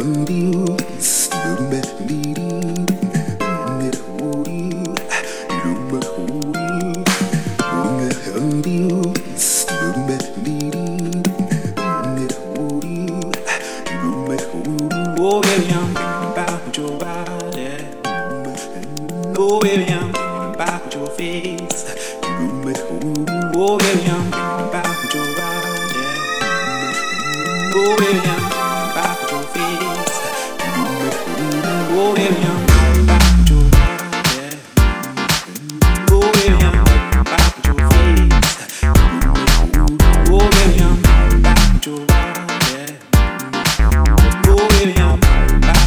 Oh baby, I'm thinking about your body. Oh baby, I'm thinking about your face. Oh baby, I'm thinking about your body. Oh baby, I'm thinking about your face. Oh baby, I'm thinking about your body. Oh baby, I'm thinking about your face. Oh baby, I'm thinking about your body. Oh baby, I'm thinking about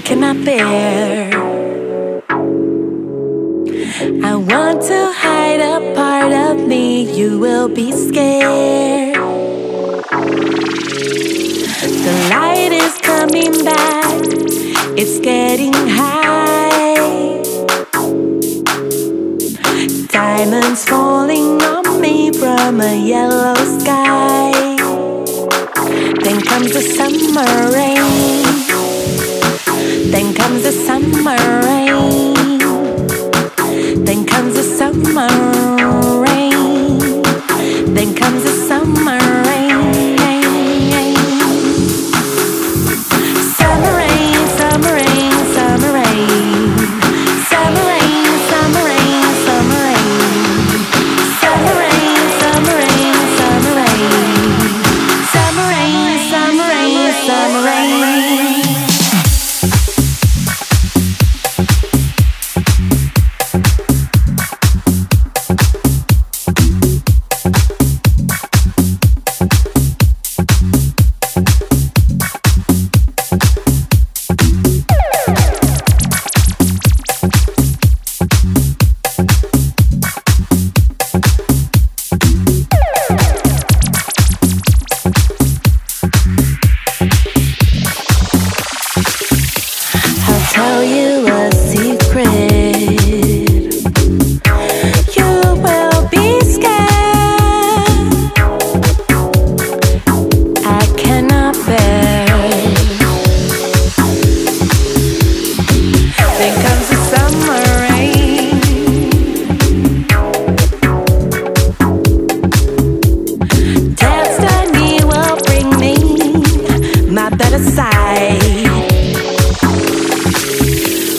cannot bear. I want to hide a part of me, you will be scared. The light is coming back, it's getting high. Diamonds falling on me from a yellow sky. Then comes the summer rain. Then comes the summer rain. Then comes the summer rain. Then comes the summer rain. Summer rain, summer rain, summer rain. Summer rain, summer rain, summer rain. Summer rain, summer rain, summer rain. Summer rain, summer rain, summer rain. Tell you a secret. You will be scared. I cannot bear. Then comes the summer rain. Destiny will bring me my better side.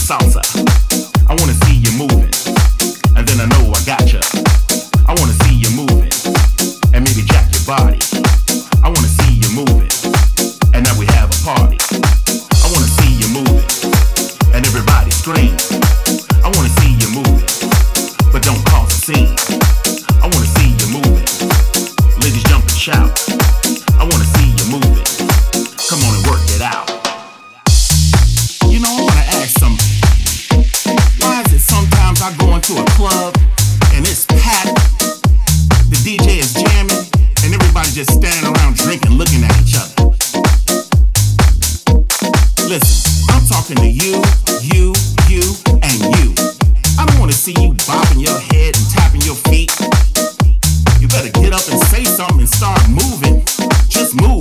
salsa. I wanna see you moving, and then I know I gotcha. I wanna see you moving, and maybe jack your body. I wanna see you moving, and now we have a party. I wanna see you moving, and everybody scream. I wanna see you moving, but don't cause a scene. I wanna see you moving, ladies jump and shout. I wanna see you moving, come on and work it out. You know, I wanna ask something. Why is it sometimes I go into a club and it's packed, the DJ is jamming, and everybody just standing around drinking, looking at each other? Listen, I'm talking to you, and you. I don't wanna see you bopping your head and tapping your feet. You better get up and say something and start moving. Just move.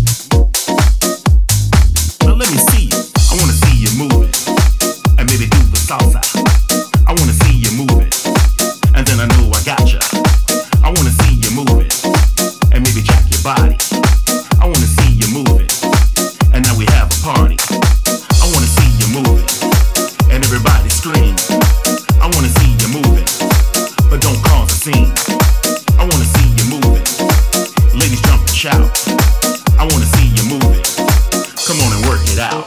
Now let me see you. I wanna see you moving, and maybe do the salsa. I wanna see you moving, and then I know I gotcha. I wanna see you moving, and maybe jack your body. I wanna see you moving, and now we have a party. I wanna see you moving, and everybody scream. I wanna see you moving, but don't cause a scene. I wanna see you moving, ladies jump and shout. I wanna see you moving, come on and work it out.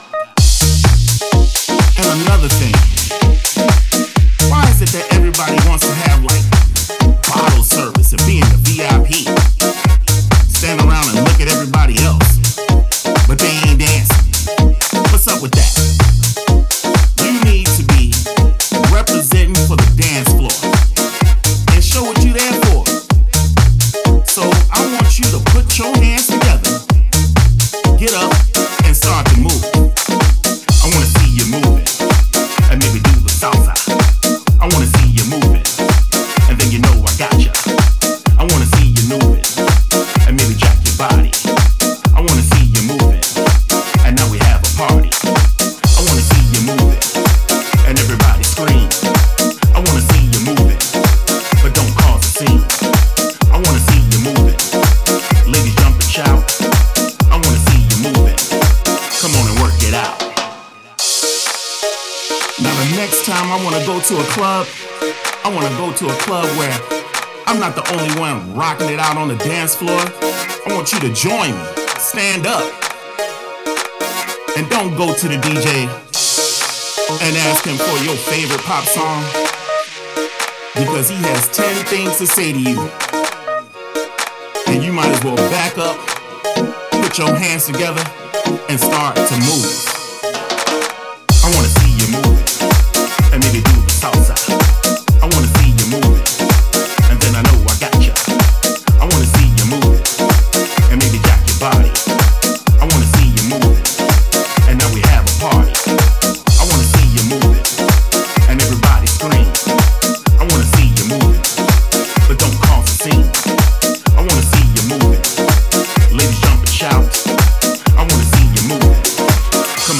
And another thing, why is it that everybody wants to have like bottle service and be in the VIP? Stand around and look at everybody else, but they ain't dancing. What's up with that? You need to be representing for the dance floor and show what you're there for. So I want you to put your hands together, get up and start to move. I wanna see you moving, and maybe do the salsa. I wanna see you moving, and then you know I gotcha. I wanna see you moving, and maybe jack your body. I wanna see you moving, and now we have a party. I wanna see you moving, and everybody scream. I wanna see you moving, but don't cause a scene. I wanna see you moving, ladies jump and shout. I wanna see you moving, come on and work it out. Now the next time I wanna go to a club, I wanna go to a club where I'm not the only one rocking it out on the dance floor. I want you to join me, stand up, and don't go to the DJ and ask him for your favorite pop song, because he has 10 things to say to you. And you might as well back up, put your hands together, and start to move. I wanna see you moving, and maybe do the salsa. I wanna see you moving, and then I know I gotcha. I wanna see you moving, and maybe jack your body. I wanna see you moving, and now we have a party. I wanna see you moving, and everybody scream. I wanna see you moving, but don't cause a scene. I wanna see you moving, ladies jump and shout. I wanna see you moving, come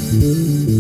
Thank